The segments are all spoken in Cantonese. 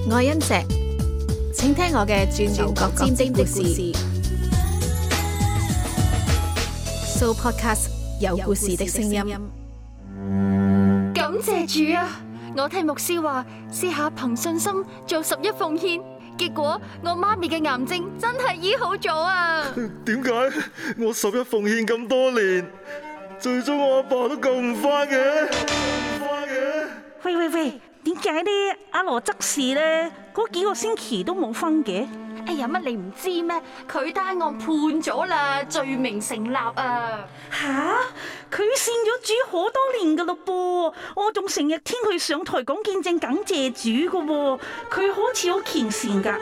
我係欣石，請聽我嘅轉牛角尖的故事。So Podcast 有故事的聲音。 感謝主啊！我聽牧師話，試下憑信心做11奉獻，結果我媽咪嘅癌症真係醫好咗啊！ 點解我11奉獻咁多年，最終我阿爸都救唔返嘅？ 喂，點解呢？阿羅執事呢？嗰幾個星期都冇分嘅？ 哎呀，乜你唔知咩？佢單案判咗啦，罪名成立啊！ 吓，佢信咗主好多年噶咯噃，我仲成日聽佢上台講見證感謝主噶喎，佢好似好虔誠噶。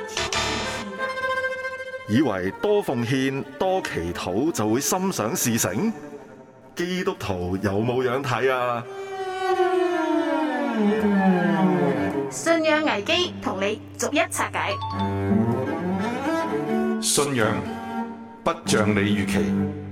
以為多奉獻多祈禱就會心想事成？基督徒有冇樣睇啊？ 信仰危機同你逐一拆解。 信仰不像你預期。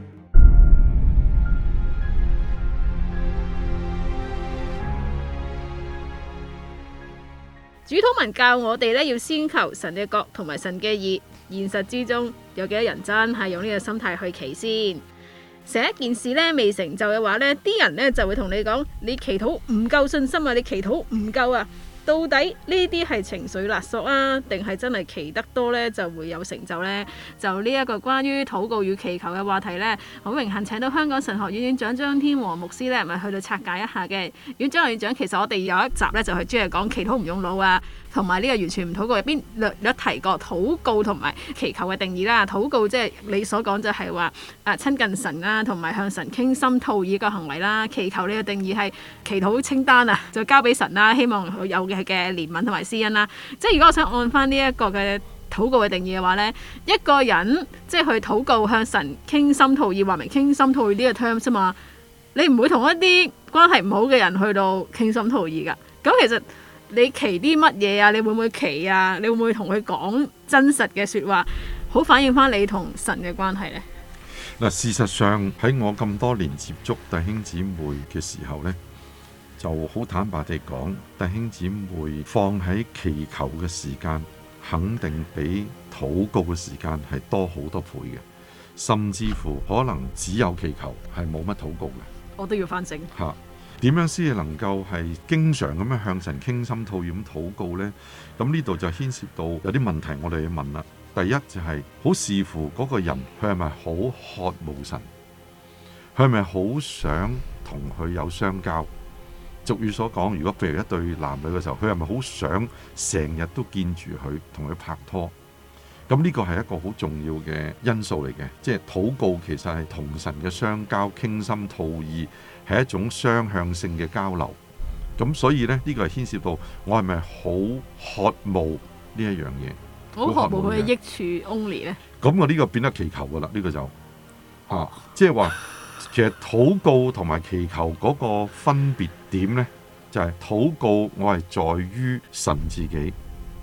主禱文教我哋咧，要先求神嘅國同埋神嘅義。現實之中有幾多人真係用呢個心態去祈先？成一件事咧未成就嘅話咧，啲人咧就會同你講：你祈禱唔夠信心啊！你祈禱唔夠啊！到底呢啲係情緒勒索啊，定係真係祈得多呢就會有成就呢？就呢一個關於禱告與祈求嘅話題呢，好榮幸請到香港神學院院長張天和牧師呢，咪去到拆解一下嘅。院長，其實我哋有一集呢，就係專係講祈禱唔用腦啊，同埋呢個完全唔禱告入邊略提過禱告同埋祈求嘅定義啦。禱告即係你所講就係話親近神啦，同埋向神傾心吐意個行為啦。祈求呢個定義係祈禱清單啊，就交俾神啦，希望佢有嘅憐憫同埋施恩啦。即係如果我想按翻呢一個嘅禱告嘅定義嘅話呢，一個人即係去禱告向神傾心吐意，話明傾心吐意呢個 term 啫嘛。你唔會同一啲關係唔好嘅人去到傾心吐意噶。咁其實你祈啲乜嘢啊？你會唔會祈啊？你會唔會同佢講真實嘅說話，好反映翻你同神嘅關係呢？ 嗱，事實上喺我咁多年接觸弟兄姊妹嘅時候呢，就好坦白地講，弟兄姊妹放喺祈求嘅時間，肯定比禱告嘅時間係多好多倍嘅，甚至乎可能只有祈求，係冇乜禱告嘅。 我都要反省嚇，點樣先至能夠係經常咁樣向神傾心吐意咁禱告呢？咁呢度就牽涉到有啲問題，我哋要問啦。第一就係好視乎嗰個人，佢係咪好渴慕神，佢係咪好想同佢有相交？俗語所講，如果譬如一對男女嘅時候，佢係咪好想成日都見住佢，同佢拍拖？咁呢個係一個好重要嘅因素嚟嘅，即係禱告其實係同神嘅相交、傾心吐意，係一種雙向性嘅交流。咁所以呢，呢個係牽涉到我係咪好渴慕呢一樣嘢？ 好渴慕佢嘅益處 only 呢？ 咁我呢個變得祈求噶啦，呢個就即係話。其實禱告同埋祈求嗰個分別點呢，就係禱告我係在於神自己，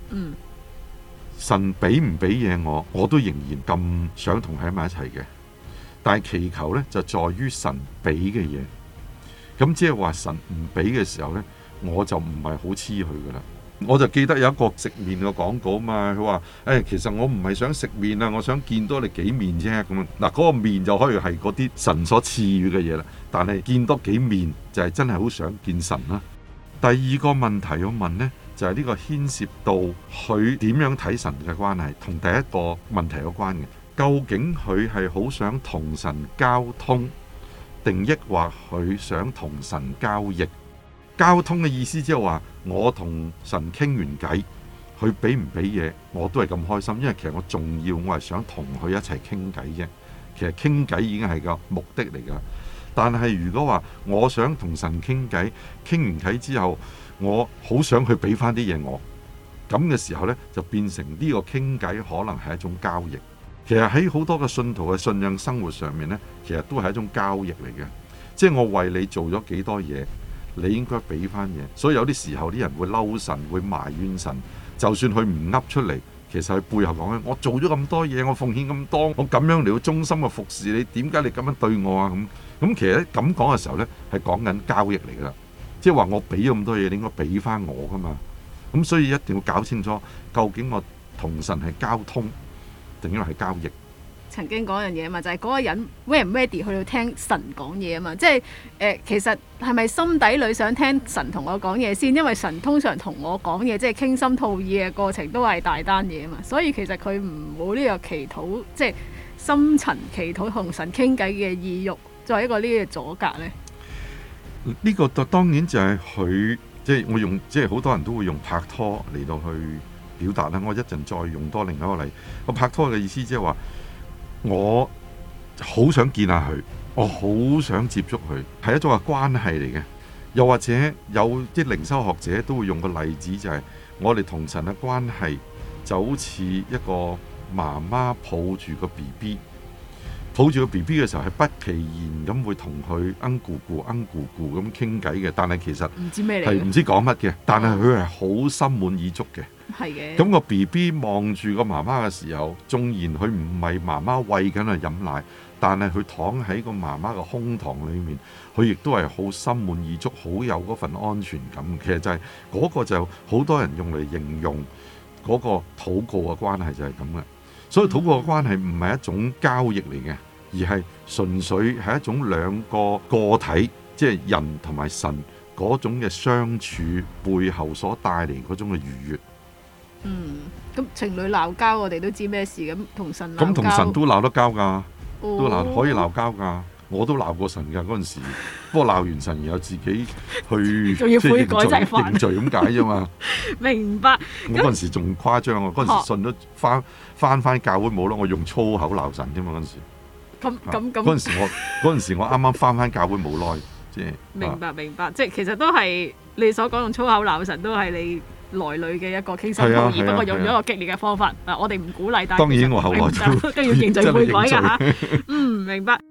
神俾唔俾嘢我都仍然咁想同佢喺埋一齊嘅。但係祈求呢，就在於神俾嘅嘢，咁即係話神唔俾嘅時候呢，我就唔係好黐佢噶啦。我就記得有一個食麵嘅廣告嘛，佢話其實我唔係想食麵啊，我想見多你幾面啫。咁嗱，嗰個面就可以係嗰啲神所賜予嘅嘢啦。但係見多幾面就係真係好想見神啦。第二個問題要問呢，就係呢個牽涉到佢點樣睇神嘅關係，同第一個問題有關嘅。究竟佢係好想同神交通，定抑或佢想同神交易？交通嘅意思即係話，我同神傾完偈，佢俾唔俾嘢我都係咁開心，因為其實我重要，我係想同佢一齊傾偈啫。其實傾偈已經係個目的嚟㗎。但係如果話我想同神傾偈，傾完偈之後，我好想佢俾翻啲嘢我，咁嘅時候呢，就變成呢個傾偈可能係一種交易。其實喺好多嘅信徒嘅信仰生活上面呢，其實都係一種交易嚟嘅，即係我為你做咗幾多嘢，你應該俾翻嘢。所以有啲時候啲人會嬲神，會埋怨神，就算佢唔噏出嚟，其實佢背後講緊，我做咗咁多嘢，我奉獻咁多，我咁樣嚟到忠心嘅服侍你，點解你咁樣對我啊？咁其實咁講嘅時候呢，係講緊交易嚟噶啦，即係話我俾咗咁多嘢，你應該俾翻我噶嘛。 咁所以一定要搞清楚，究竟我同神係交通定因為係交易。 曾經講一樣嘢嘛，就係、是、嗰個人 ready 唔 ready 去到聽神講嘢啊嘛，即係其實係咪心底裏想聽神同我講嘢先？因為神通常同我講嘢，即係傾心吐意嘅過程都係大單嘢啊嘛，所以其實佢唔冇呢個祈禱，即係深層祈禱同神傾偈嘅意欲，作為一個呢個阻隔呢。 呢個當然就係佢，即係我用，即係好多人都會用拍拖嚟到去表達啦。我一陣再用多另一個例。個拍拖嘅意思即係話，我好想見下佢，我好想接觸佢，係一種嘅關係嚟嘅。又或者有啲靈修學者都會用個例子，就係我哋同神嘅關係就好似一個媽媽抱住個 BB， 抱住個 BB 嘅時候係不其然咁會同佢咕咕咁傾偈嘅，但係其實唔知咩嚟， 係唔知講乜嘅，但係佢係好心滿意足嘅。 係嘅。 咁個 BB 望住個媽媽嘅時候，縱然佢唔係媽媽餵緊佢飲奶，但係佢躺喺個媽媽嘅胸膛裏面，佢亦都係好心滿意足，好有嗰份安全感。其實就係嗰個就好多人用嚟形容嗰個禱告嘅關係就係咁嘅。所以禱告嘅關係唔係一種交易嚟嘅，而係純粹係一種兩個個體，即係人同埋神嗰種嘅相處背後所帶嚟嗰種嘅愉悅。 咁情侶鬧交，我哋都知咩事，咁同神鬧交， 咁同神都鬧得交㗎，都可以鬧交㗎。 哦我都鬧過神㗎嗰陣時，不過鬧完神然後自己去仲要悔改就係認罪咁解啫嘛。 明白。 我嗰陣時仲誇張啊！嗰陣時信咗翻教會冇啦，我用粗口鬧神啫嘛嗰陣時。 咁嗰陣時我啱啱翻教會冇耐，即係明白，即係其實都係你所講用粗口鬧神，都係你內裏嘅一個傾心吐意，不過用咗一個激烈嘅方法。我哋唔鼓勵，但係當然我後來都要認罪悔改㗎嚇。明白。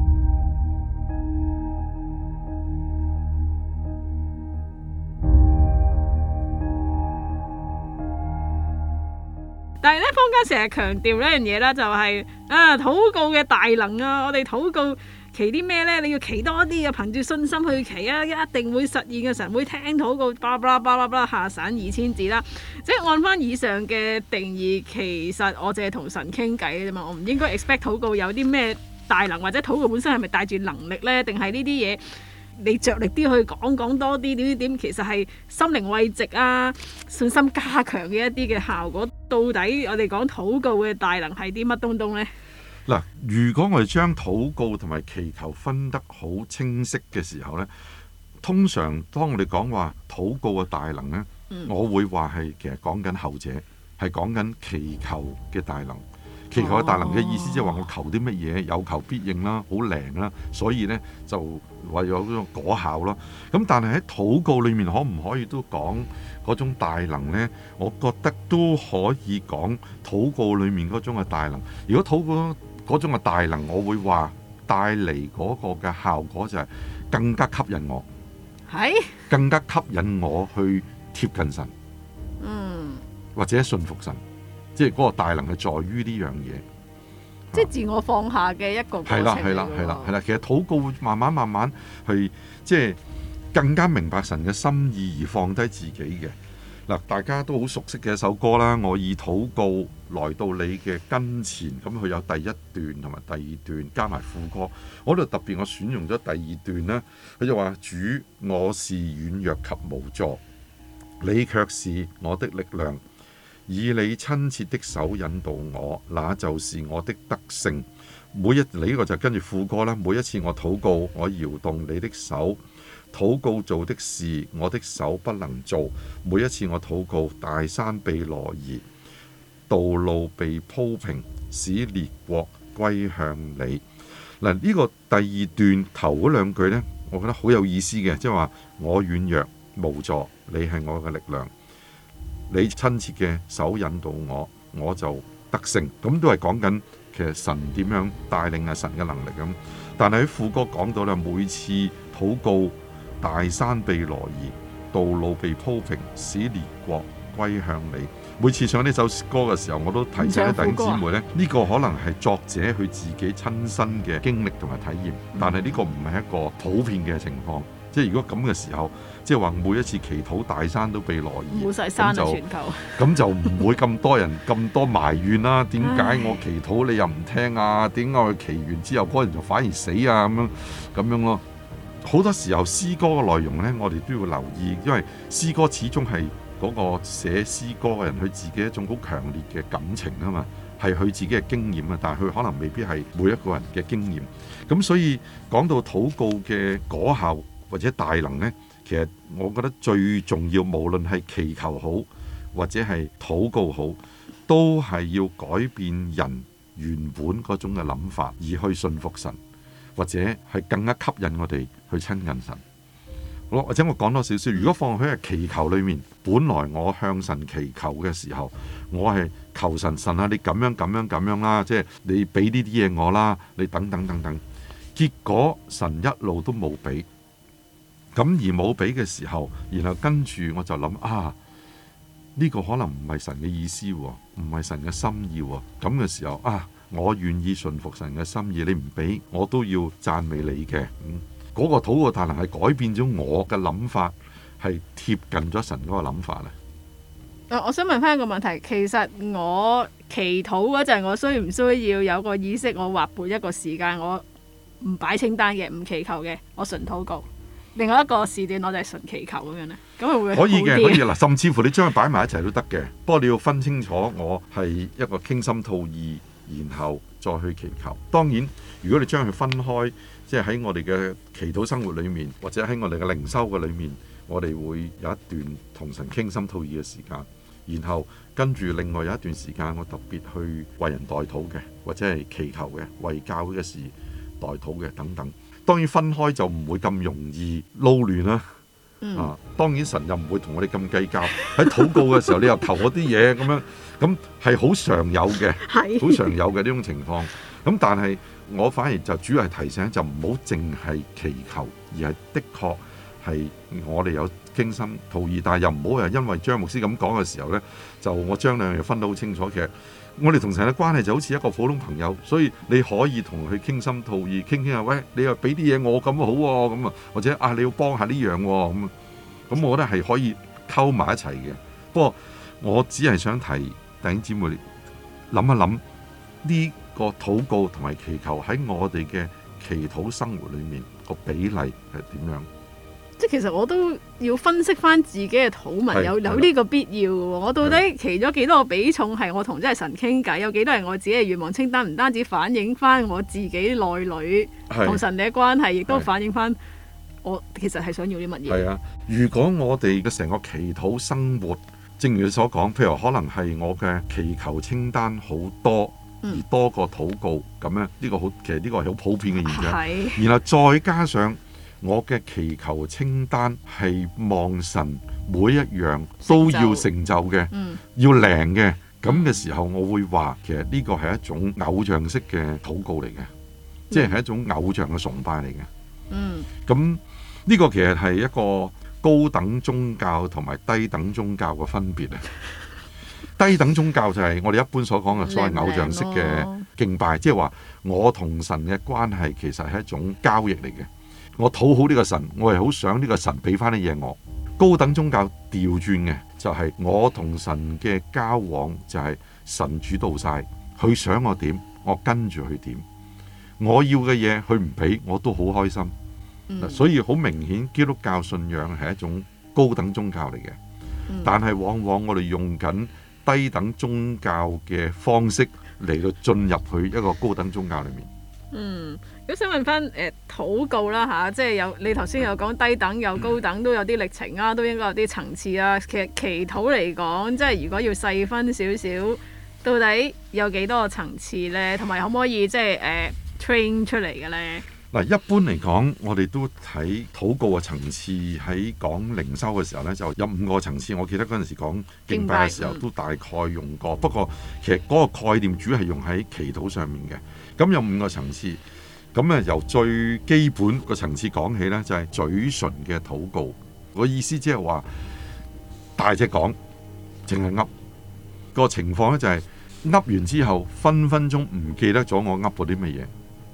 但係咧，坊間成日強調呢樣嘢啦，就係禱告嘅大能啊！我哋禱告祈啲咩呢？你要祈多啲啊，憑住信心去祈啊，一定會實現嘅，神會聽禱告，巴拉巴拉下散2000字啦。即係按翻以上嘅定義，其實我淨係同神傾偈啫嘛，我唔應該 expect 禱告有啲咩大能，或者禱告本身係咪帶住能力呢？定係呢啲嘢？你着力啲去講多啲點，其實係心靈慰藉啊、信心加強嘅一啲嘅效果。到底我哋講禱告嘅大能係啲乜東東呢？ 嗱，如果我哋將禱告同埋祈求分得好清晰嘅時候呢，通常當我哋講話禱告嘅大能呢，我會話係其實講緊後者，係講緊祈求嘅大能。祈求嘅大能嘅意思即係話我求啲乜嘢有求必應啦，好靈啦，所以呢就為咗嗰種果效咯。咁但係喺禱告裏面可唔可以都講嗰種大能呢？我覺得都可以講禱告裏面嗰種嘅大能。如果禱告嗰種嘅大能，我會話帶嚟嗰個嘅效果就係更加吸引我，更加吸引我去貼近神，或者信服神。即係嗰個大能係在於呢樣嘢， 即係自我放下嘅一個過程嚟㗎。係啦。其實禱告會慢慢去，即係更加明白神嘅心意而放低自己嘅。嗱，大家都好熟悉嘅一首歌啦。我以禱告來到你嘅跟前，咁佢有第一段同埋第二段加埋副歌。我度特別我選用咗第二段啦。佢就話：主，我是軟弱及無助，你卻是我的力量。以你親切的手引導我，那就是我的得勝。你呢個就跟住副歌啦。每一次我禱告，我搖動你的手，禱告做的事，我的手不能做。每一次我禱告，大山被挪移，道路被鋪平，使列國歸向你。嗱，呢個第二段頭嗰兩句呢，我覺得好有意思嘅，即係話我軟弱無助，你係我嘅力量。你親切嘅手引導我，我就得勝。咁都係講緊其實神點樣帶領係神嘅能力咁。但係喺副歌講到咧，每次禱告，大山被挪移，道路被鋪平，使列國歸向你。每次唱呢首歌嘅時候，我都提醒啲弟兄姊妹咧，呢個可能係作者佢自己親身嘅經歷同埋體驗，但係呢個唔係一個普遍嘅情況。即即係如果咁嘅時候，即係話每一次祈禱大山都被挪移， 冇晒山啊全球。 咁就唔會咁多人咁多埋怨啦。點解我祈禱你又唔聽啊？點解我祈完之後嗰人就反而死啊？咁樣咯。好多時候詩歌嘅內容呢，我哋都要留意，因為詩歌始終係嗰個寫詩歌嘅人佢自己一種好強烈嘅感情啊嘛，係佢自己嘅經驗啊，但係佢可能未必係每一個人嘅經驗。咁所以講到禱告嘅果效或者大能呢，其實我覺得最重要，無論係祈求好或者係禱告好，都係要改變人原本嗰種嘅諗法，而去信服神，或者係更加吸引我哋去親近神。好，或者我講多少少，如果放喺祈求裏面，本來我向神祈求嘅時候，我係求神啊，你咁樣啦，即係你俾呢啲嘢我啦，你等等等等，結果神一路都冇俾。咁而冇俾嘅時候，然後跟住我就諗呢個可能唔係神嘅意思，唔係神嘅心意。咁嘅時候我願意順服神嘅心意，你唔俾我都要讚美你嘅。嗰個禱告大能係改變咗我嘅諗法，係貼近咗神嗰個諗法咧。 我想問翻一個問題，其實我祈禱嗰陣，我需唔需要有個意識？我劃撥一個時間，我唔擺清單嘅，唔祈求嘅，我純禱告。另外一個時段我就係純祈求咁樣咧，咁會唔會好啲？ 可以嗱，甚至乎你將佢擺埋一齊都得嘅。不過你要分清楚，我係一個傾心吐意，然後再去祈求。當然，如果你將佢分開，即係喺我哋嘅祈禱生活裏面，或者喺我哋嘅靈修嘅裏面，我哋會有一段同神傾心吐意嘅時間，然後跟住另外有一段時間，我特別去為人代禱嘅，或者係祈求嘅，為教會嘅事代禱嘅等等。當然分開就唔會咁容易撈亂啦。當然神又唔會同我哋咁計較。喺禱告嘅時候，你又求我啲嘢咁樣，咁係好常有嘅，好常有嘅呢種情況。咁但係我反而就主要係提醒，就唔好淨係祈求，而係的確係我哋有傾心吐意，但係又唔好因為張牧師咁講嘅時候呢，就我將兩樣嘢分得好清楚。其實我哋同神嘅關係就好似一個普通朋友，所以你可以同佢傾心吐意，傾下，喂，你又俾啲嘢我咁好喎，咁或者你要幫下呢樣喎，咁我覺得係可以溝埋一齊嘅。不過我只係想提弟兄姊妹諗一諗呢個禱告同埋祈求喺我哋嘅祈禱生活裏面個比例係點樣？ 即係其實我都要分析翻自己嘅禱文，有呢個必要嘅喎。我到底祈咗幾多個比重係我同真係神傾偈，有幾多係我自己嘅願望清單？唔單止反映翻我自己內裏同神嘅關係，亦都反映翻我其實係想要啲乜嘢。係啊， 如果我哋嘅成個祈禱生活，正如你所講，譬如可能係我嘅祈求清單好多，而多過禱告咁咧，呢個好，其實呢個係好普遍嘅現象。然後再加上我嘅祈求清單係望神每一樣都要成就嘅，要靈嘅，咁嘅時候，我會話其實呢個係一種偶像式嘅禱告嚟嘅，即係一種偶像嘅崇拜嚟嘅。咁呢個其實係一個高等宗教同埋低等宗教嘅分別啊。低等宗教就係我哋一般所講嘅所謂偶像式嘅敬拜，即係話我同神嘅關係其實係一種交易嚟嘅。我討好呢個神，我係好想呢個神俾翻啲嘢我。高等宗教調轉嘅就係我同神嘅交往就係神主導晒，佢想我點，我跟住佢點。我要嘅嘢佢唔俾，我都好開心。所以好明顯，基督教信仰係一種高等宗教嚟嘅，但係往往我哋用緊低等宗教嘅方式嚟到進入去一個高等宗教裏面。 咁想問翻禱告啦嚇，即係有你頭先有講低等有高等，都有啲歷程啊，都應該有啲層次啊。其實祈禱嚟講，即係如果要細分少少，到底有幾多個層次呢？同埋可唔可以即係train 出嚟嘅呢？ 嗱，一般嚟講，我哋都睇禱告嘅層次，喺講靈修嘅時候呢，就有5個層次。我記得嗰陣時講敬拜嘅時候，都大概用過。不過其實嗰個概念主要係用喺祈禱上面嘅。咁有5個層次。咁由最基本個層次講起呢，就係嘴唇嘅禱告。個意思即係話大隻講，淨係噏。個情況呢，就係噏完之後，分分鐘唔記得咗我噏過啲乜嘢。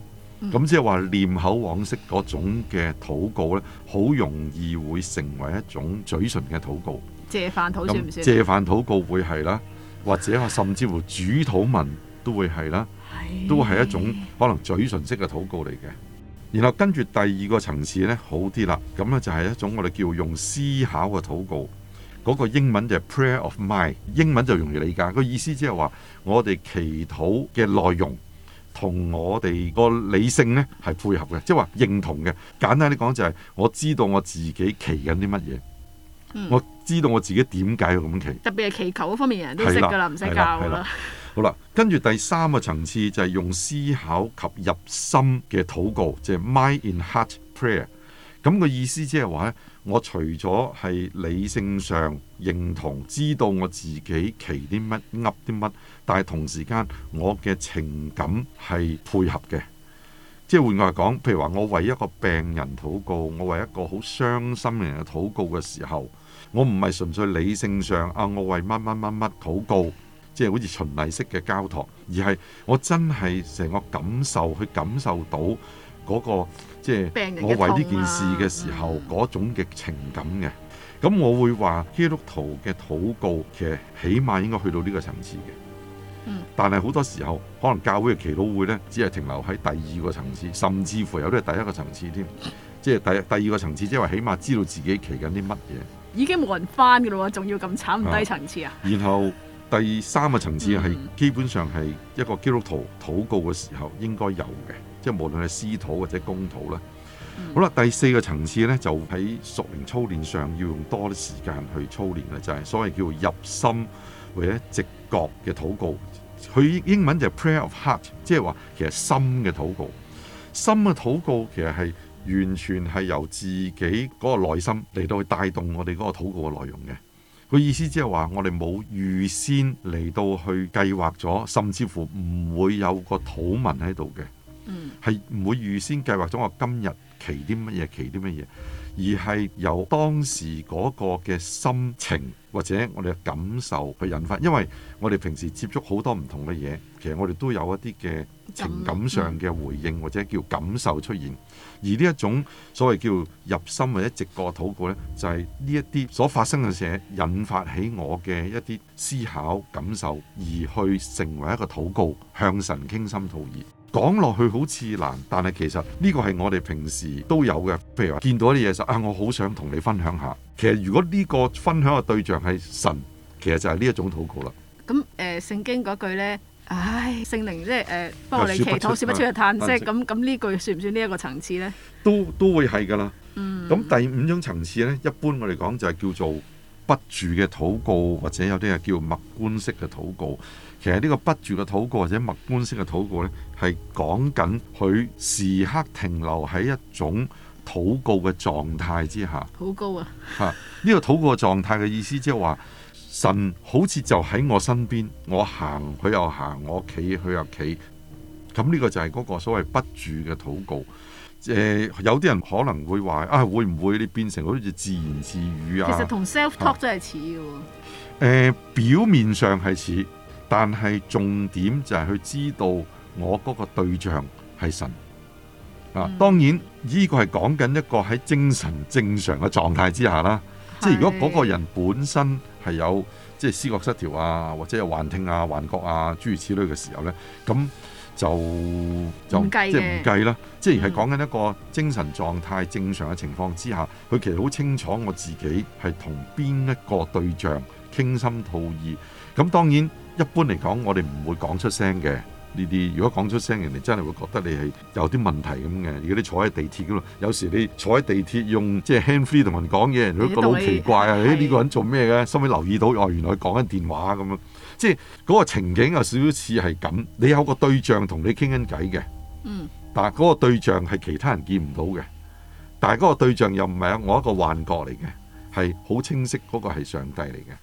咁即係話念口往昔嗰種嘅禱告呢，好容易會成為一種嘴唇嘅禱告。 謝飯禱算唔算？ 謝飯禱告會係啦，或者話甚至乎主禱文都會係啦，都係一種可能嘴唇式嘅禱告嚟嘅。然後跟住第二個層次呢，好啲啦，咁呢就係一種我哋叫用思考嘅禱告。嗰個英文就係 prayer of mind， 英文就容易理解。個意思即係話我哋祈禱嘅內容同我哋個理性呢係配合嘅，即係話認同嘅。簡單啲講就係我知道我自己祈緊啲乜嘢，我知道我自己點解要咁祈。 特別係祈求嗰方面，人人都識㗎啦，唔使教㗎啦。 好啦，跟住第三個層次就係用思考及入心嘅禱告，即係 mind in heart prayer。咁個意思即係話咧，我除咗係理性上認同知道我自己祈啲乜噏啲乜，但係同時間我嘅情感係配合嘅。即係換句話講，譬如話我為一個病人禱告，我為一個好傷心嘅人嘅禱告嘅時候，我唔係純粹理性上我為乜乜乜乜禱告，即係好似循例式嘅交託，而係我真係成個感受去感受到嗰個即係我為呢件事嘅時候嗰種嘅情感嘅。咁我會話基督徒嘅禱告其實起碼應該去到呢個層次嘅。但係好多時候可能教會嘅祈禱會呢，只係停留喺第二個層次，甚至乎有啲係第一個層次添。即係第二個層次，即係話起碼知道自己祈緊啲乜嘢。已經冇人翻㗎咯喎，仲要咁慘唔低層次啊！然後第三個層次係基本上係一個基督徒禱告嘅時候應該有嘅。即係無論係私禱或者公禱啦。好啦，第四個層次呢，就喺屬靈操練上要用多啲時間去操練嘅，就係所謂叫入心或者直覺嘅禱告。佢英文就係 prayer of heart， 即係話其實心嘅禱告。心嘅禱告其實係完全係由自己嗰個內心嚟到去帶動我哋嗰個禱告嘅內容嘅。佢意思即係話我哋冇預先嚟到去計劃咗，甚至乎唔會有個禱文喺度嘅。係唔會預先計劃咗我今日祈啲乜嘢，祈啲乜嘢，而係由當時嗰個嘅心情或者我哋嘅感受去引發。因為我哋平時接觸好多唔同嘅嘢，其實我哋都有一啲嘅情感上嘅回應或者叫感受出現。而呢一種所謂叫入心或者直覺禱告呢，就係呢一啲所發生嘅事引發起我嘅一啲思考感受，而去成為一個禱告，向神傾心吐意。講落去好似難，但係其實呢個係我哋平時都有嘅。譬如話見到啲嘢就我好想同你分享下。其實如果呢個分享嘅對象係神，其實就係呢一種禱告啦。咁聖經嗰句呢，聖靈即係幫我哋祈禱，說不出嘅嘆息。咁呢句算唔算呢一個層次呢？都會係㗎啦。咁第五種層次呢，一般我哋講就係叫做不住嘅禱告，或者有啲係叫默觀式嘅禱告。其實呢個不住嘅禱告或者默觀式嘅禱告呢，係講緊佢時刻停留喺一種禱告嘅狀態之下。好高啊！呢個禱告嘅狀態嘅意思即係話，神好似就喺我身邊，我行佢又行，我企佢又企。咁呢個就係嗰個所謂不住嘅禱告。有啲人可能會話會唔會你變成好似自言自語啊？其實同 self talk 真係似嘅。表面上係似。但係重點就係去知道我嗰個對象係神當然呢個係講緊一個喺精神正常嘅狀態之下啦。即係如果嗰個人本身係有即係思覺失調啊，或者有幻聽啊、幻覺啊諸如此類嘅時候呢，咁就即係唔計啦。即係講緊一個精神狀態正常嘅情況之下，佢其實好清楚我自己係同邊一個對象傾心吐意。咁當然一般嚟講，我哋唔會講出聲嘅呢啲。如果講出聲，人哋真係會覺得你係有啲問題咁嘅。如果你坐喺地鐵嗰度，有時你坐喺地鐵用即係 hand free 同人講嘢，人哋都覺得好奇怪啊！呢個人做咩嘅？收尾留意到原來佢講緊電話咁樣。即係嗰個情景有少少似係咁。你有個對象同你傾緊偈嘅，但係嗰個對象係其他人見唔到嘅。但係嗰個對象又唔係我一個幻覺嚟嘅，係好清晰嗰個係上帝嚟嘅。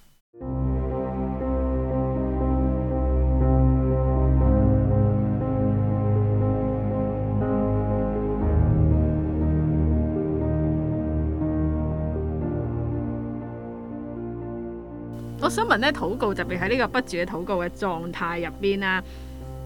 我想問咧，禱告特別喺呢個不住嘅禱告嘅狀態入邊啦，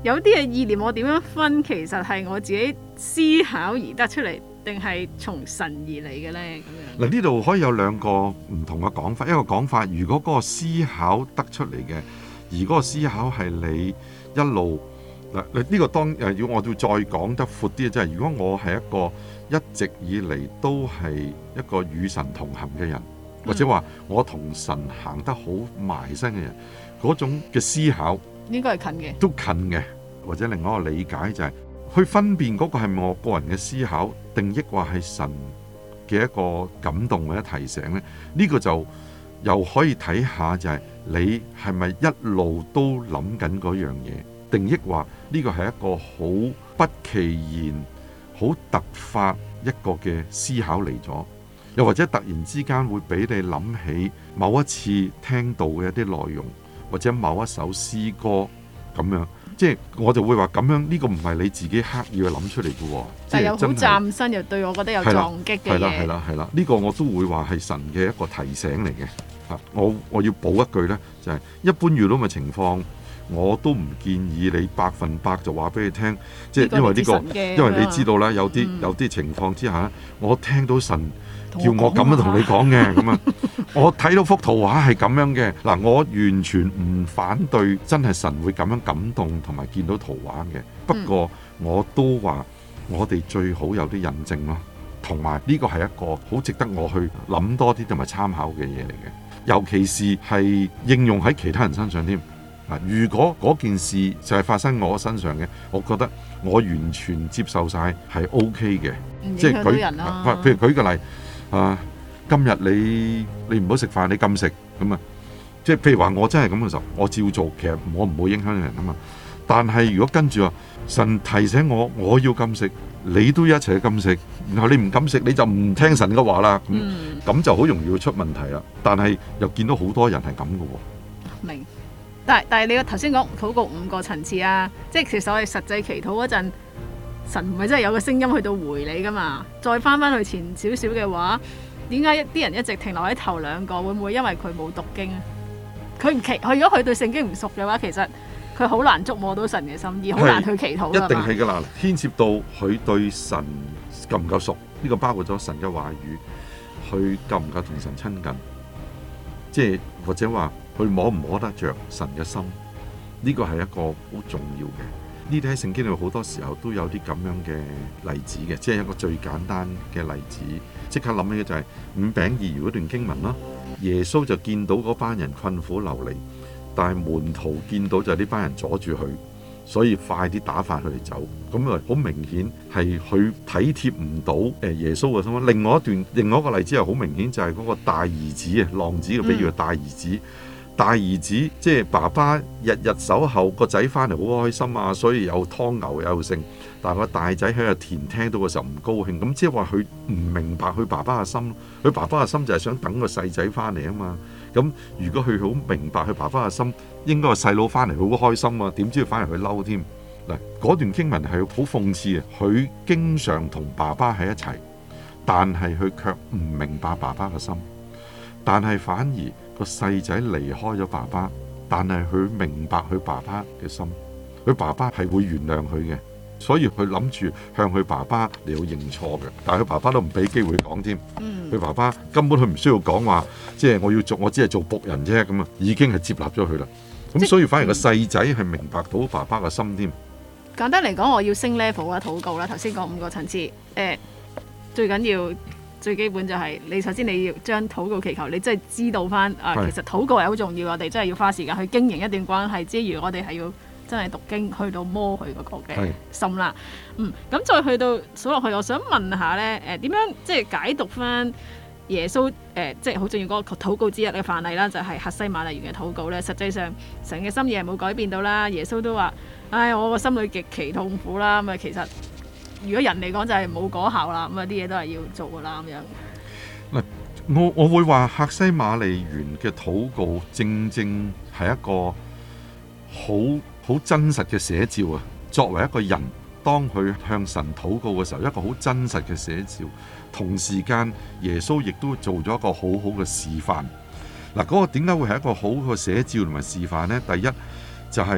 有啲嘅意念我點樣分，其實係我自己思考而得出嚟，定係從神而嚟嘅呢？咁樣嗱，呢度可以有兩個唔同嘅講法。一個講法，如果嗰個思考得出嚟嘅，而嗰個思考係你一路嗱，呢個當要我要再講得闊啲，即係如果我係一個一直以嚟都係一個與神同行嘅人，或者話我同神行得好埋身嘅人，嗰種嘅思考應該係近嘅， 都近嘅。或者另外一個理解就係去分辨嗰個係咪我個人嘅思考，定抑或係神嘅一個感動或者提醒呢？呢個就又可以睇下，就係你係咪一路都諗緊嗰樣嘢，定抑或呢個係一個好不其然、好突發一個嘅思考嚟咗，又或者突然之間會俾你諗起某一次聽到嘅一啲內容，或者某一首詩歌咁樣。即係我就會話咁樣，呢個唔係你自己刻意去諗出嚟嘅喎， 但係有好嶄新又對我覺得有撞擊嘅嘢。 係啦，呢個我都會話係神嘅一個提醒嚟嘅。我要補一句呢，就係一般遇到嘅情況，我都唔建議你100%就話俾你聽，即係因為呢個，因為你知道啦，有啲情況之下，我聽到神叫我咁樣同你講嘅，咁啊，我睇到幅圖畫係咁樣嘅，嗱，我完全唔反對，真係神會咁樣感動同埋見到圖畫嘅。不過我都話我哋最好有啲印證咯，同埋呢個係一個好值得我去諗多啲同埋參考嘅嘢嚟嘅，尤其是係應用喺其他人身上添。如果嗰件事就係發生我身上嘅，我覺得我完全接受晒係 OK 嘅，即係人啊。 譬如舉個例。今日你唔好食飯，你禁食咁啊！即係譬如話我真係咁嘅時候，我照做，其實我唔會影響人啊嘛。但係如果跟住話神提醒我要禁食，你都一齊去禁食，然後你唔禁食你就唔聽神嘅話啦，咁就好容易會出問題啦。但係又見到好多人係咁嘅喎。 明，但係你頭先講禱告5個層次啊，即係其實我哋實際祈禱嗰陣，神唔係真係有個聲音去到回你噶嘛？再翻去前少少嘅話，點解啲人一直停留喺頭2個？會唔會因為佢冇讀經啊？佢如果佢對聖經唔熟嘅話，其實佢好難觸摸到神嘅心意，好難去祈禱。 一定係噶啦，牽涉到佢對神夠唔夠熟？呢個包括咗神嘅話語，佢夠唔夠同神親近？即係或者話佢摸唔摸得着神嘅心？呢個係一個好重要嘅。呢啲喺聖經裏好多時候都有啲咁樣嘅例子嘅，即係一個最簡單嘅例子。即刻諗起嘅就係5餅2魚嗰段經文啦。耶穌就見到嗰班人困苦流離，但係門徒見到就係呢班人阻住佢，所以快啲打發佢哋走。咁啊，好明顯係佢體貼唔到耶穌嘅心。另外一個例子係好明顯，就係嗰個大兒子啊，浪子嘅比喻，大兒子。大兒子即係爸爸日日守候個仔翻嚟好開心啊，所以有湯牛有剩。但係個大仔喺個田聽到嘅時候唔高興，咁即係話佢唔明白佢爸爸嘅心。佢爸爸嘅心就係想等個細仔翻嚟啊嘛。咁如果佢好明白佢爸爸嘅心，應該個細佬翻嚟好開心啊，點知佢翻嚟佢嬲添。嗱，嗰段經文係好諷刺嘅。佢經常同爸爸喺一齊，但係佢卻唔明白爸爸嘅心，但係反而個細仔離開咗爸爸，但係佢明白佢爸爸嘅心，佢爸爸係會原諒佢嘅，所以佢諗住向佢爸爸嚟到認錯嘅，但係佢爸爸都唔俾機會講添。佢爸爸根本佢唔需要講話，即係我只係做僕人啫，咁啊已經係接納咗佢啦。咁所以反而個細仔係明白到爸爸嘅心添。 簡單嚟講，我要升 level 啦，禱告啦。頭先講5個層次，最緊要。最基本就係你首先你要將禱告祈求，你真係知道翻其實禱告係好重要，我哋真係要花時間去經營一段關係之餘，我哋係要真係讀經去到摸佢嗰個嘅心啦。咁再去到數落去，我想問下呢，點樣即係解讀翻耶穌即係好重要嗰個禱告之一嘅範例啦，就係客西馬尼園嘅禱告呢。實際上神嘅心意係冇改變到啦，耶穌都話：我個心裏極其痛苦啦。咁其實如果人嚟講就係冇果效啦，咁啲嘢都係要做噶啦咁樣。 我會話客西馬尼園嘅禱告正正係一個好真實嘅寫照啊！作為一個人，當佢向神禱告嘅時候，一個好真實嘅寫照。同時間，耶穌亦都做咗一個好好嘅示範。嗰個點解會係一個好嘅寫照同埋示範呢？第一就係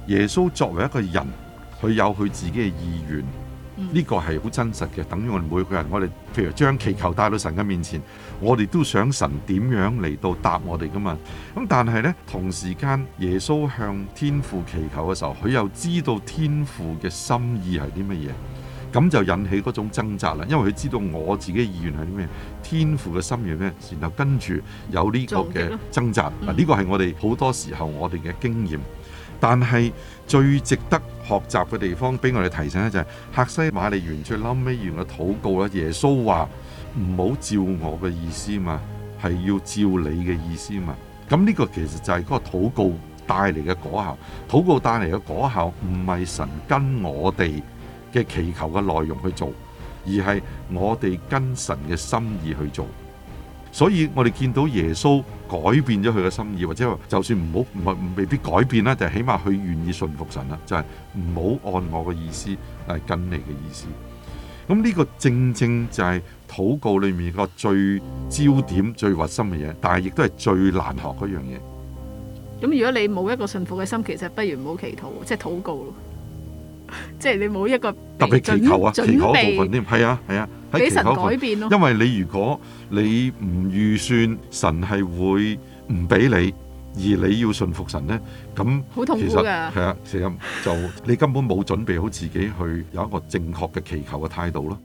耶穌作為一個人，佢有佢自己嘅意願，呢個係好真實嘅。等於我哋每個人，我哋譬如將祈求帶到神嘅面前，我哋都想神點樣嚟到答我哋噶嘛。咁但係呢，同時間耶穌向天父祈求嘅時候，佢又知道天父嘅心意係啲乜嘢。咁就引起嗰種掙扎啦，因為佢知道我自己嘅意願係啲咩，天父嘅心意咩，然後跟住有呢個嘅掙扎。嗱，呢個係我哋好多時候我哋嘅經驗，但係最值得學習嘅地方，俾我哋提醒咧就係客西馬尼園最後尾完嘅禱告啦。耶穌話唔好照我嘅意思嘛，係要照你嘅意思嘛。咁呢個其實就係嗰個禱告帶嚟嘅果效。禱告帶嚟嘅果效唔係神跟我哋嘅祈求嘅內容去做，而係我哋跟神嘅心意去做。所以我哋見到耶穌改變咗佢嘅心意，或者話就算未必改變啦，就係起碼佢願意順服神啦，就係唔好按我嘅意思，係跟你嘅意思。咁呢個正正就係禱告裏面個最焦點、最核心嘅嘢，但係亦都係最難學嗰樣嘢。 咁如果你冇一個順服嘅心，其實不如唔好祈禱，即係禱告咯。即係你冇一個特別祈求啊，祈求嘅部分添，係啊， 俾神改變咯。 因為你如果你唔預算神係會唔俾你，而你要順服神呢，咁好痛苦㗎。 係啊，其實就你根本冇準備好自己去有一個正確嘅祈求嘅態度咯。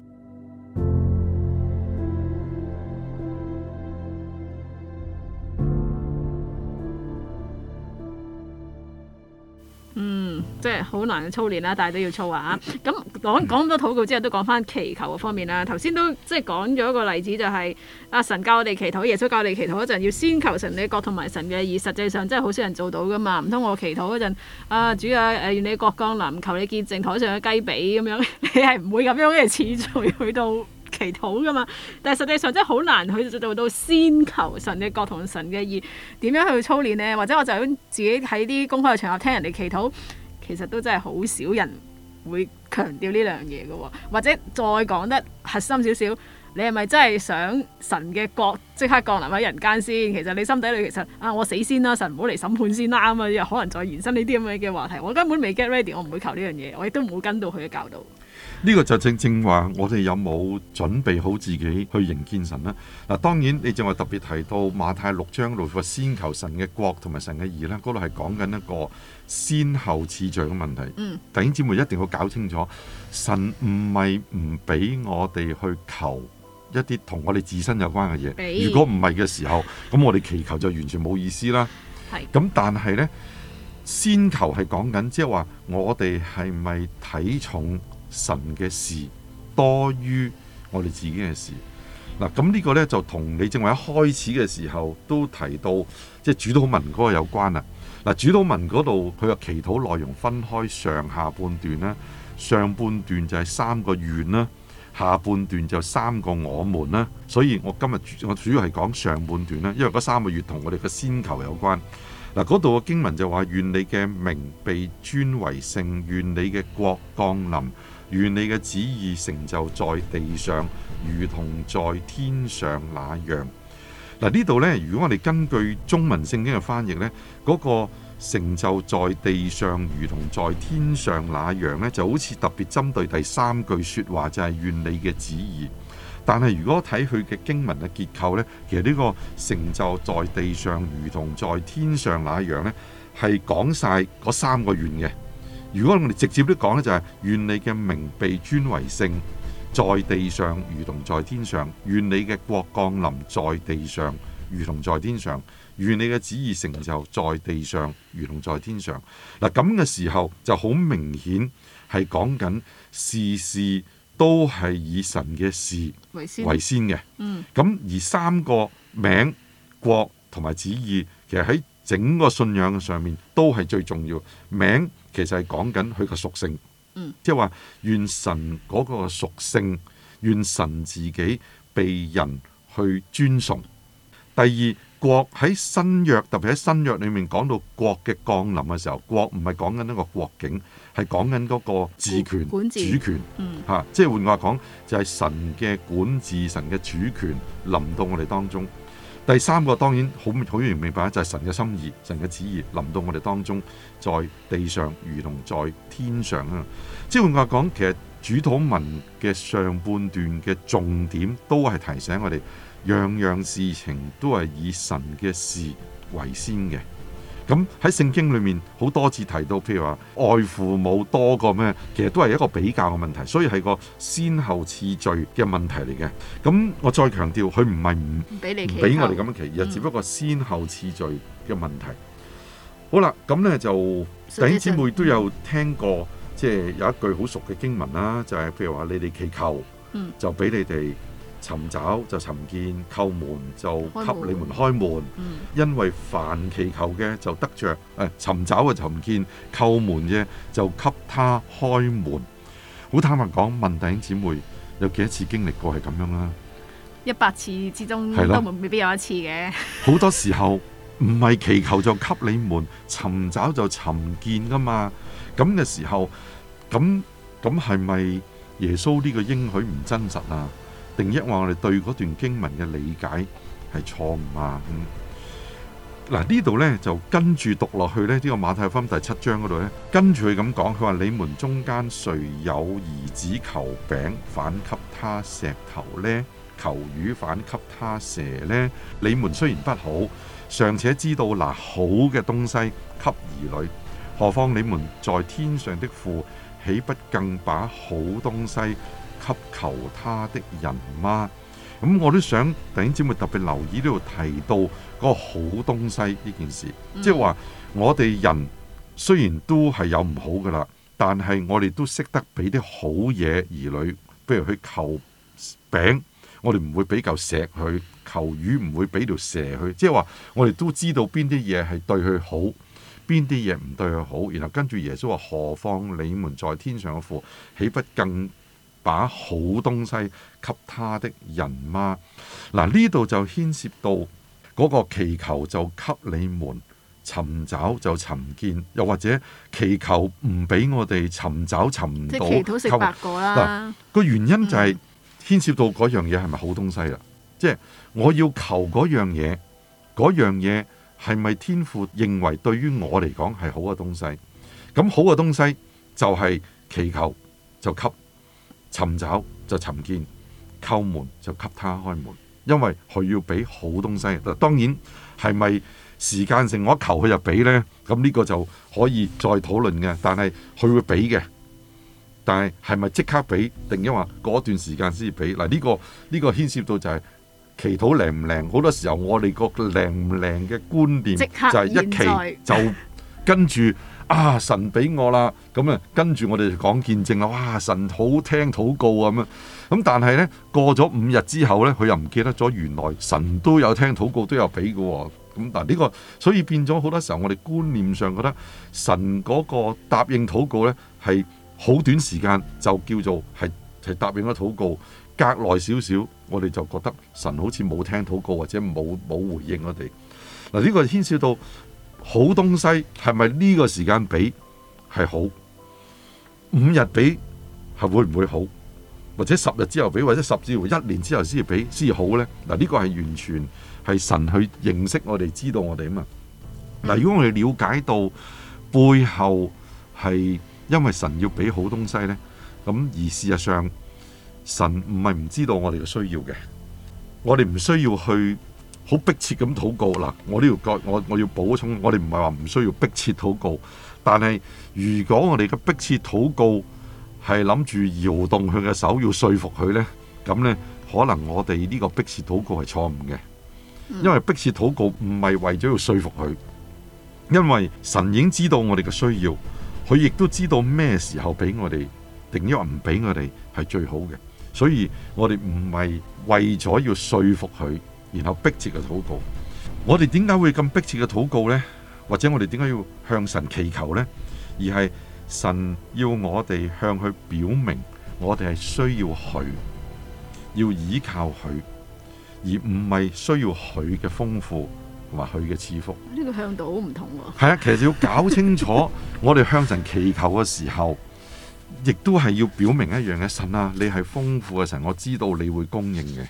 即係好難操練啦，但係都要操啊！咁講咁多禱告之後，都講翻祈求嘅方面啦。頭先都即係講咗一個例子，就係阿神教我哋祈禱，耶穌教我哋祈禱嗰陣，要先求神嘅國同埋神嘅義。實際上真係好少人做到噶嘛。唔通我祈禱嗰陣，主啊，願你國降臨，求你潔淨台上嘅雞髀咁樣，你係唔會咁樣嘅次序去到祈禱噶嘛？但係實際上真係好難去做到先求神嘅國同神嘅義。點樣去操練呢？或者我就自己喺啲公開嘅場合聽人哋祈禱。其實都真係好少人會強調呢兩樣嘢嘅喎，或者再講得核心少少，你係咪真係想神嘅國即刻降臨喺人間先？其實你心底裏其實我死先啦，神唔好嚟審判先啦，咁啊又可能再延伸呢啲咁樣嘅話題。我根本未 get ready， 我唔會求呢樣嘢，我亦都唔會跟到佢嘅教導。 呢個就正話，我哋有冇準備好自己去迎見神呢？嗱，當然你正話特別提到馬太6章嗰度話先求神嘅國同埋神嘅義呢，嗰度係講緊一個先後次序嘅問題。弟兄姊妹一定要搞清楚，神唔係唔俾我哋去求一啲同我哋自身有關嘅嘢。如果唔係嘅時候，咁我哋祈求就完全冇意思啦。咁但係呢，先求係講緊，即係話我哋係咪睇重神嘅事多於我哋自己嘅事？嗱，咁呢個呢，就同你正話一開始嘅時候都提到，即係主禱文嗰個有關啦。嗱，主禱文嗰度佢嘅祈禱內容分開上下半段啦，上半段就係3個願啦，下半段就3個我們啦。所以我今日我主要係講上半段啦，因為嗰3個願同我哋嘅先求有關。嗱，嗰度嘅經文就話：願你嘅名被尊為聖，願你嘅國降臨，願你嘅旨意成就在地上，如同在天上那樣。嗱，呢度呢，如果我哋根據中文聖經嘅翻譯呢，嗰個成就在地上，如同在天上那樣呢，就好似特別針對第3句說話，就係願你嘅旨意。但係如果睇佢嘅經文嘅結構呢，其實呢個成就在地上如同在天上那樣呢，係講晒嗰3個願嘅。如果我哋直接啲講呢，就係願你嘅名被尊為聖，在地上如同在天上；願你嘅國降臨在地上如同在天上；願你嘅旨意成就在地上如同在天上。嗱，咁嘅時候就好明顯係講緊事事都係以神嘅事為先嘅。咁而3個名、國同埋旨意，其實喺整個信仰上面都係最重要。名其實係講緊佢個屬性，即係話願神嗰個屬性，願神自己被人去尊崇。第二，國喺新約，特別喺新約裏面講到國嘅降臨嘅時候，國唔係講緊一個國境，係講緊嗰個治權、主權。即係換句話講，就係神嘅管治、神嘅主權臨到我哋當中。 第三個當然好容易明白，就係神嘅心意、神嘅旨意臨到我哋當中，在地上如同在天上啊！即係換句話講，其實主禱文嘅上半段嘅重點都係提醒我哋，樣樣事情都係以神嘅事為先嘅。咁喺聖經裏面好多次提到，譬如話愛父母多過咩，其實都係一個比較嘅問題，所以係個先後次序嘅問題嚟嘅。咁我再強調，佢唔係唔俾我哋咁樣祈，而係只不過先後次序嘅問題。好啦，咁呢就弟兄姊妹都有聽過，即係有一句好熟嘅經文啦，就係譬如話你哋祈求，就俾你哋。尋找就尋見，叩門就給你們開門。因為凡祈求嘅就得着，尋找嘅尋見，叩門嘅就給他開門。好坦白講，問弟兄姊妹有幾多次經歷過係咁樣啦 ？100次之中都未必有一次嘅。 好多時候唔係祈求就給你門，尋找就尋見噶嘛。咁嘅時候，咁係咪耶穌呢個應許唔真實啊？定抑話我哋對嗰段經文嘅理解係錯誤啊？嗱，呢度呢就跟住讀落去呢，呢個馬太福音第7章嗰度呢，跟住佢咁講，佢話你們中間誰有兒子求餅，反給他石頭呢？求魚反給他蛇呢？你們雖然不好，尚且知道拿好嘅東西給兒女，何況你們在天上的父，豈不更把好東西給求他的人嗎？咁我都想弟兄姊妹特別留意呢度提到嗰個好東西呢件事，即係話我哋人雖然都係有唔好噶啦，但係我哋都識得俾啲好嘢兒女，譬如去求餅，我哋唔會俾嚿石去；求魚唔會俾條蛇去。即係話我哋都知道邊啲嘢係對佢好，邊啲嘢唔對佢好。然後跟住耶穌話：何況你們在天上嘅父，豈不更把好東西給他的人嗎？嗱，呢度就牽涉到嗰個祈求就給你們，尋找就尋見，又或者祈求唔俾我哋尋找尋唔到。 即係祈禱食白果啦。 個原因就係牽涉到嗰樣嘢係咪好東西啦？即係我要求嗰樣嘢，嗰樣嘢係咪天父認為對於我嚟講係好嘅東西？咁好嘅東西就係祈求就給。尋找就尋見，叩門就給他開門，因為佢要俾好東西。當然係咪時間性我一求佢就俾呢？咁呢個就可以再討論嘅。但係佢會俾嘅，但係係咪即刻俾，定因為嗰段時間先至俾？嗱，呢個牽涉到就係祈禱靈唔靈。好多時候我哋個靈唔靈嘅觀念就係一祈就跟住。神俾我啦，咁啊跟住我哋就講見證啦。哇，神好聽禱告啊咁啊，咁但係呢，過咗5日之後呢，佢又唔記得咗原來神都有聽禱告，都有俾嘅。咁嗱呢個，所以變咗好多時候我哋觀念上覺得神嗰個答應禱告呢係好短時間就叫做係答應咗禱告，隔耐少少我哋就覺得神好似冇聽禱告或者冇回應我哋。嗱，呢個牽涉到。好東西係咪呢個時間俾係好？5日俾係會唔會好？或者10日之後俾，或者10至1年之後先至俾先好呢？嗱，呢個係完全係神去認識我哋，知道我哋啊嘛。嗱，如果我哋了解到背後係因為神要俾好東西呢，咁而事實上神唔係唔知道我哋嘅需要嘅，我哋唔需要去。好迫切咁禱告嗱，我要補充，我哋唔係話唔需要迫切禱告，但係如果我哋嘅迫切禱告係諗住搖動佢嘅手，要說服佢呢，咁呢可能我哋呢個迫切禱告係錯誤嘅，因為迫切禱告唔係為咗要說服佢，因為神已經知道我哋嘅需要，佢亦都知道咩時候俾我哋，定抑或唔俾我哋係最好嘅，所以我哋唔係為咗要說服佢。然後迫切嘅禱告，我哋點解會咁迫切嘅禱告呢？或者我哋點解要向神祈求呢？而係神要我哋向佢表明，我哋係需要佢，要依靠佢，而唔係需要佢嘅豐富同埋佢嘅賜福。 呢個向度好唔同喎。 係啊，其實要搞清楚，我哋向神祈求嘅時候，亦都係要表明一樣嘅，神啊，你係豐富嘅神，我知道你會供應嘅。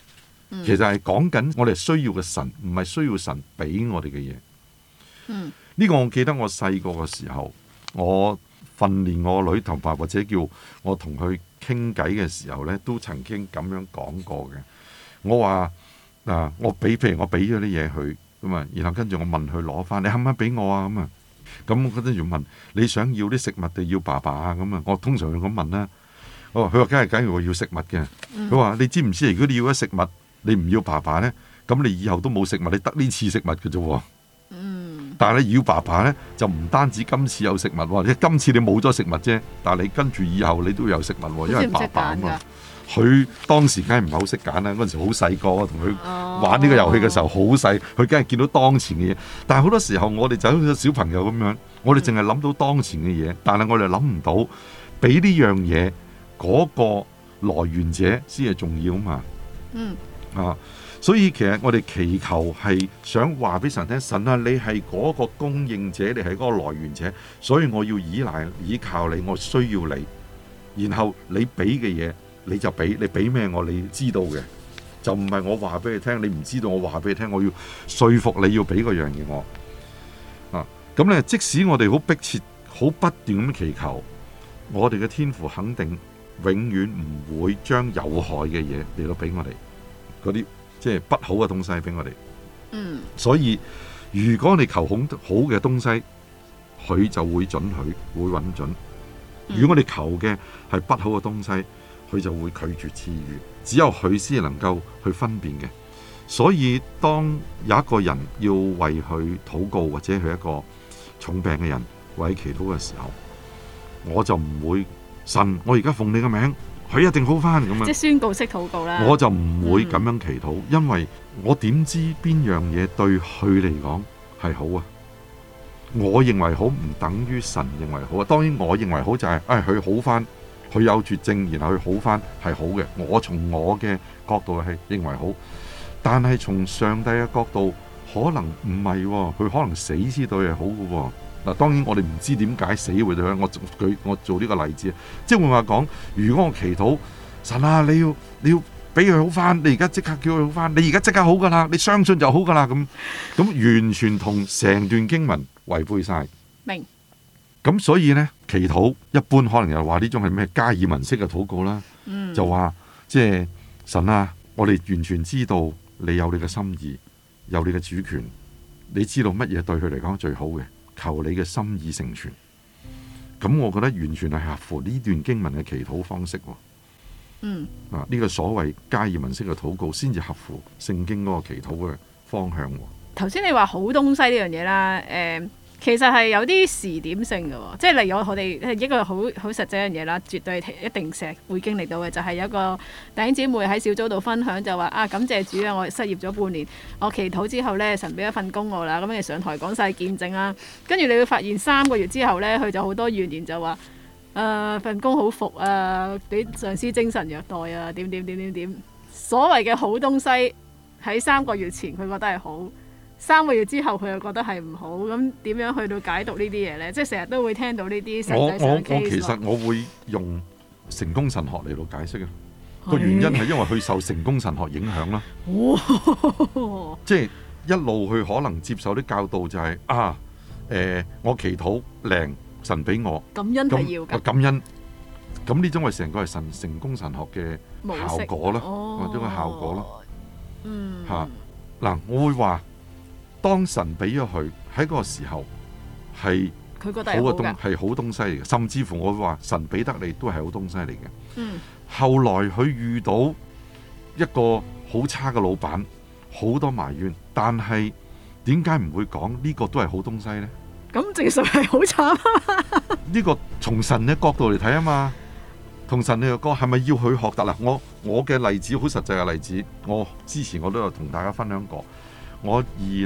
其實係講緊我哋需要嘅神，唔係需要神俾我哋嘅嘢。呢個我記得我細個嘅時候，我訓練我女同埋或者叫我同佢傾偈嘅時候呢，都曾經咁樣講過嘅。我話譬如我俾咗啲嘢佢咁啊，然後跟住我問佢攞翻，你肯唔肯俾我啊？咁啊，咁我跟住問你想要啲食物定要爸爸啊？咁啊，我通常會咁問啦。佢話梗係我要食物嘅。佢話你知唔知如果你要咗食物，你唔要爸爸呢，咁你以後都冇食物，你得呢次食物嘅啫。但係你要爸爸呢，就唔單止今次有食物喎，今次你冇咗食物啫，但係你跟住以後你都有食物喎，因為爸爸啊嘛。佢當時梗係唔係好識揀啦，嗰陣時好細個，同佢玩呢個遊戲嘅時候好細，佢梗係見到當前嘅嘢。但係好多時候我哋就好似小朋友咁樣，我哋淨係諗到當前嘅嘢，但係我哋諗唔到俾呢樣嘢嗰個來源者先係重要嘛。所以其實我哋祈求係想話俾神聽，神啊，你係嗰個供應者，你係嗰個來源者，所以我要依靠你，我需要你，然後你俾嘅嘢你就俾，你俾咩我你知道嘅，就唔係我話俾你聽，你唔知道我話俾你聽，我要說服你要俾嗰樣嘢我。咁咧，即使我哋好迫切、好不斷咁祈求，我哋嘅天父肯定永遠唔會將有害嘅嘢嚟到俾我哋嗰啲。即係不好嘅東西俾我哋，所以如果你求好嘅東西，佢就會准許，會允准。如果我哋求嘅係不好嘅東西，佢就會拒絕賜予。只有佢先能夠去分辨嘅。所以當有一個人要為佢禱告，或者係一個重病嘅人為佢祈禱嘅時候，我就唔會神，我而家奉你嘅名，佢一定好翻咁樣， 即係宣告式禱告啦。 我就唔會咁樣祈禱，因為我點知邊樣嘢對佢嚟講係好啊？我認為好唔等於神認為好啊。當然我認為好就係佢好翻，佢有絕症，然後佢好翻係好嘅。我從我嘅角度係認為好，但係從上帝嘅角度可能唔係喎，佢可能死先對係好嘅喎。嗱，當然我哋唔知點解死會對佢。我做呢個例子，即係換話講，如果我祈禱神啊，你要俾佢好翻，你而家即刻叫佢好翻，你而家即刻好噶啦，你相信就好噶啦，咁完全同成段經文違背晒。 明。 咁所以呢，祈禱一般可能又話呢種係咩加爾文式嘅禱告啦，就話即係神啊，我哋完全知道你有你嘅心意，有你嘅主權，你知道乜嘢對佢嚟講最好嘅。求你嘅心意成全，咁我覺得完全係合乎呢段經文嘅祈禱方式。呢個所謂加爾文式嘅禱告，先至合乎聖經嗰個祈禱嘅方向。 頭先你話好東西呢樣嘢啦，其實係有啲時點性嘅，即係例如我哋一個好實際嘅嘢啦，絕對一定成日會經歷到嘅，就係有一個弟兄姊妹喺小組度分享就話感謝主啊，我失業咗半年，我祈禱之後呢，神俾一份工我啦，咁你上台講晒見證啦，跟住你會發現3個月之後呢，佢就好多怨言就話份工好服啊，俾上司精神虐待啊，點，所謂嘅好東西喺3個月前佢覺得係好。3個月之後佢又覺得係唔好，咁點樣去到解讀呢啲嘢呢？即係成日都會聽到呢啲實際上嘅 case。其實我會用成功神學嚟到解釋啊。個原因係因為佢受成功神學影響啦。即係一路佢可能接受啲教導就係我祈禱靈神俾我感恩係要㗎。 感恩咁呢種係成個係成功神學嘅效果啦，或者個效果啦。嗱，我會話。當神俾咗佢喺嗰個時候係好嘅係好東西嚟嘅，甚至乎我會話神俾得你都係好東西嚟嘅。後來佢遇到一個好差嘅老闆，好多埋怨，但係點解唔會講呢個都係好東西呢？ 咁正常係好慘。 呢個從神嘅角度嚟睇啊嘛，同神嘅角係咪要佢學得啦？我嘅例子好實際嘅例子，我之前我都有同大家分享過。我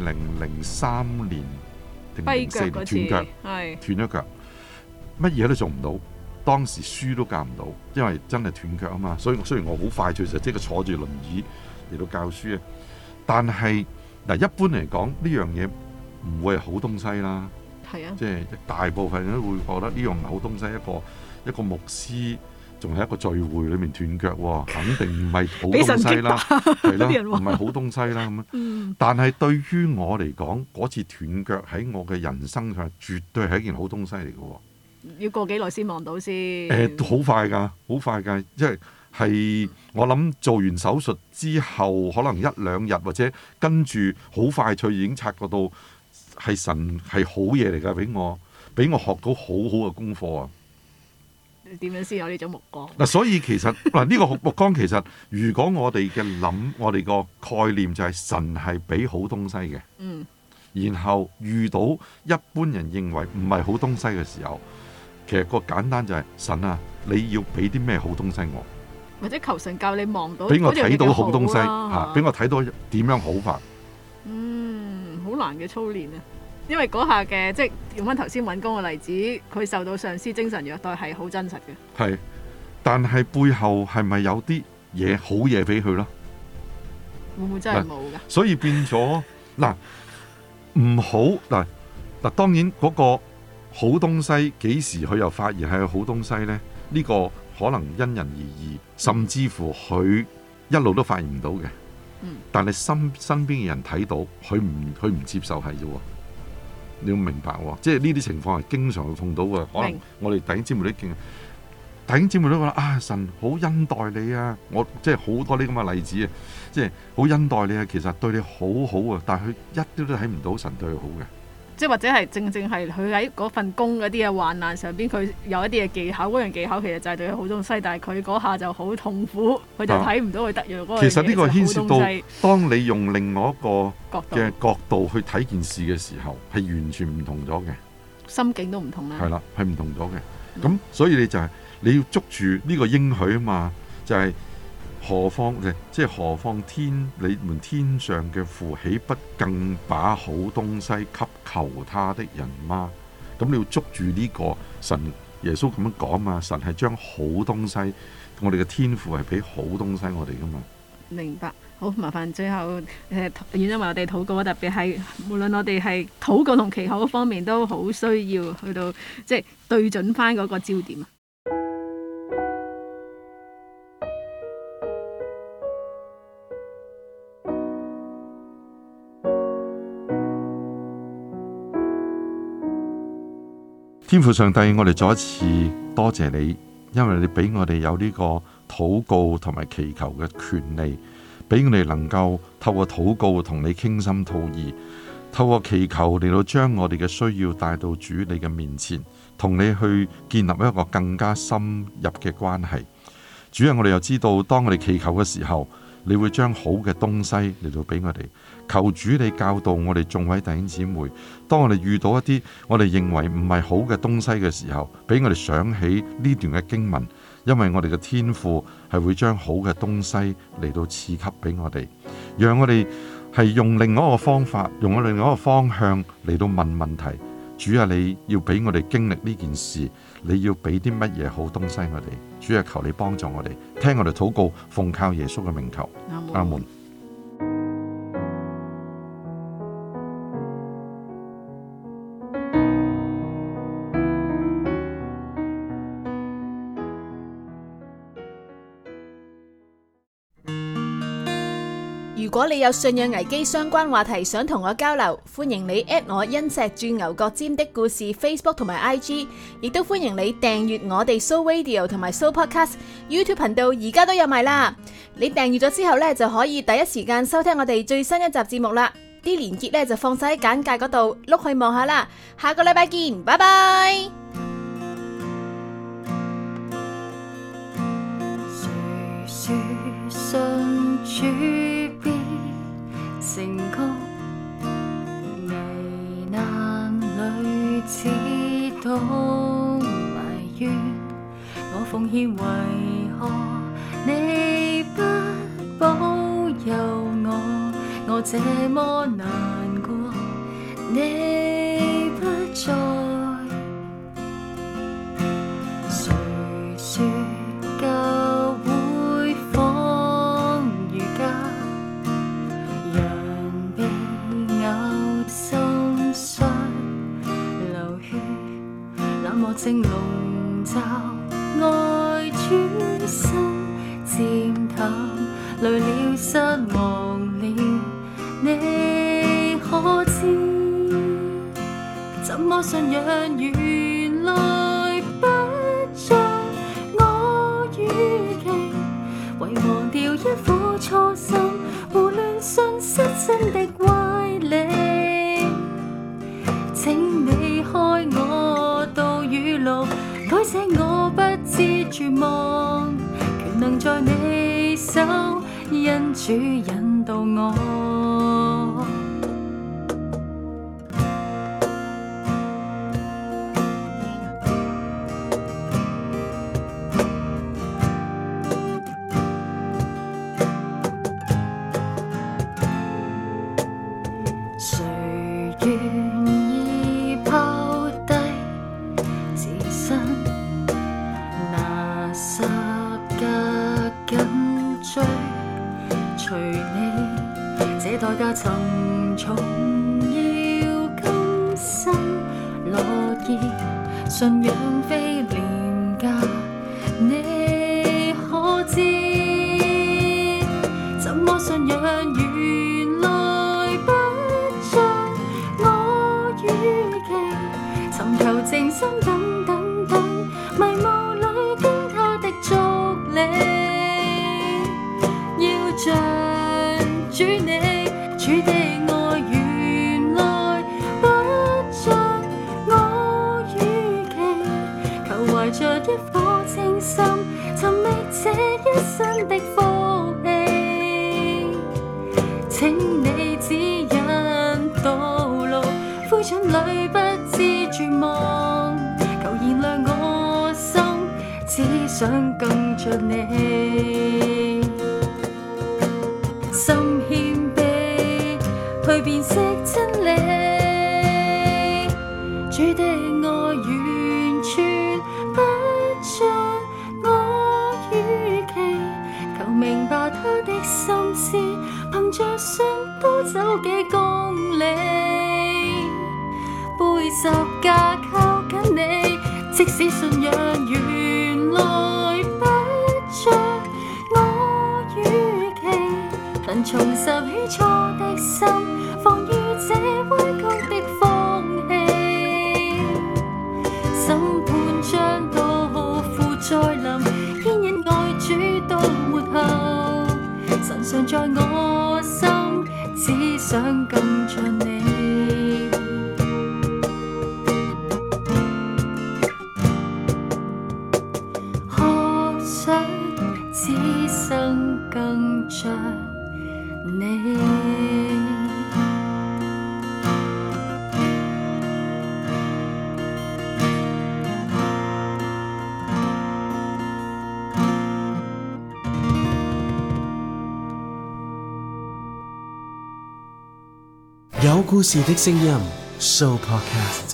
2003年定04年斷腳，斷咗腳，乜嘢都做唔到。當時書都教唔到，因為真係斷腳啊嘛。所以雖然我好快脆就即刻坐住輪椅嚟到教書啊，但係嗱，一般嚟講呢樣嘢唔會係好東西啦。係啊，即係大部分人都會覺得呢樣唔係好東西。一個牧師仲係一個聚會裏面斷腳喎，肯定唔係好東西啦，係咯，唔係好東西啦咁樣。但係對於我嚟講，嗰次斷腳喺我嘅人生上，絕對係一件好東西嚟嘅喎。 要過幾耐先望到先？ 好快㗎，好快㗎，即係我諗做完手術之後，可能1-2日或者跟住好快脆已經察覺到係神係好嘢嚟㗎，俾我學到好好嘅功課啊！ 你點樣先有呢種目光？ 嗱，所以其實嗱呢個目光其實，如果我哋嘅諗，我哋個概念就係神係俾好東西嘅，然後遇到一般人認為唔係好東西嘅時候，其實個簡單就係神啊，你要俾啲咩好東西我？ 或者求神教你望到， 俾我睇到好東西嚇，俾我睇到點樣好法。 好難嘅操練啊！因為嗰下嘅即係用翻頭先揾工嘅例子，佢受到上司精神虐待係好真實嘅。 係，但係背後係咪有啲嘢好嘢俾佢咯？ 會唔會真係冇㗎？ 所以變咗嗱，唔好嗱，當然嗰個好東西幾時佢又發現係個好東西呢？呢個可能因人而異，甚至乎佢一路都發現唔到嘅。但係身邊嘅人睇到，佢唔接受係啫喎。你要明白喎，即係呢啲情況係經常會碰到嘅。可能我哋弟兄姊妹都見，弟兄姊妹都覺得啊，神好恩待你啊！我即係好多呢咁嘅例子啊，即係好恩待你啊，其實對你好好啊，但係佢一啲都睇唔到神對佢好嘅。 即係或者係正係佢喺嗰份工嗰啲嘅患難上邊，佢有一啲嘅技巧，嗰樣技巧其實就係對佢好東西，但係佢嗰下就好痛苦，佢就睇唔到佢得藥嗰個嘢。 其實呢個牽涉到，當你用另外一個嘅角度去睇件事嘅時候，係完全唔同咗嘅， 心境都唔同啦。係啦， 係唔同咗嘅。咁所以你就係你要捉住呢個應許啊嘛，就係何況你們天上嘅父，豈不更把好東西給求他的人嗎？咁你要捉住呢個神，耶穌咁樣講嘛，神係將好東西，我哋嘅天父係俾好東西我哋噶嘛。 明白，好，麻煩最後願因為我哋禱告，特別係無論我哋係禱告同祈禱方面，都好需要去到即係對準翻嗰個焦點啊。 天父上帝，我哋再一次多謝你，因為你俾我哋有呢個禱告同埋祈求嘅權利，俾我哋能夠透過禱告同你傾心吐意，透過祈求嚟到將我哋嘅需要帶到主你嘅面前，同你去建立一個更加深入嘅關係。主啊，我哋又知道，當我哋祈求嘅時候，你會將好嘅東西嚟到俾我哋。求主你教導我哋眾位弟兄姊妹，當我哋遇到一啲我哋認為唔係好嘅東西嘅時候，俾我哋想起呢段嘅經文，因為我哋嘅天父係會將好嘅東西嚟到賜給俾我哋，讓我哋係用另外一個方法，用我另外一個方向嚟到問問題。主啊，你要俾我哋經歷呢件事，你要俾啲乜嘢好東西我哋？主啊，求你幫助我哋，聽我哋禱告，奉靠耶穌嘅名求，阿門。 如果你有信仰危機相關話題想同我交流，歡迎你 at 我因石鑽牛角尖的故事 Facebook 同埋 IG， 亦都歡迎你訂閱我哋 Soul Radio 同埋 Soul Podcast YouTube 頻道，而家都有埋啦。你訂閱咗之後呢，就可以第一時間收聽我哋最新一集節目啦。啲連結呢就放晒喺簡介嗰度，碌去望下啦。下個禮拜見，拜拜。 誰說信主必成功？危難裏只懂埋怨，我奉獻為何你不保佑我？我這麼難過，你不在。誰說教會仿如家，人被咬心傷流血，冷漠正籠罩愛主。 心漸淡，累了失望了，你可知？怎麼信仰原來不像我預期，遺忘掉一顆初心，胡亂信失真的歪理。請你開我道與路，改寫我不知絕望，權能在你手，因主引導我。誰願意拋低自身，拿十架緊追，隨你這代價沉重，要甘心樂意，信仰非廉價，你可知？怎麼信仰原來不像我預期，尋求靜心等等等，迷霧裏跟他的足跡，要像主你，主的愛原來不像我預期，求懷着一顆清心，尋覓這一生的福氣，請你指引道路，灰燼裏不知絕望，求燃亮我心，只想更像你。心謙卑，去辨識真理，主的愛完全不像我預期，求明白他的心思，憑着信多走幾公里，背十架靠緊你，即使信仰原來不像我預期，能重拾起初的心，防禦這歪曲的風氣，審判將到父再臨，牽引愛主到末後，神常在我心，只想更像你。學想此生更像你。 有故事的聲音 Show Podcast。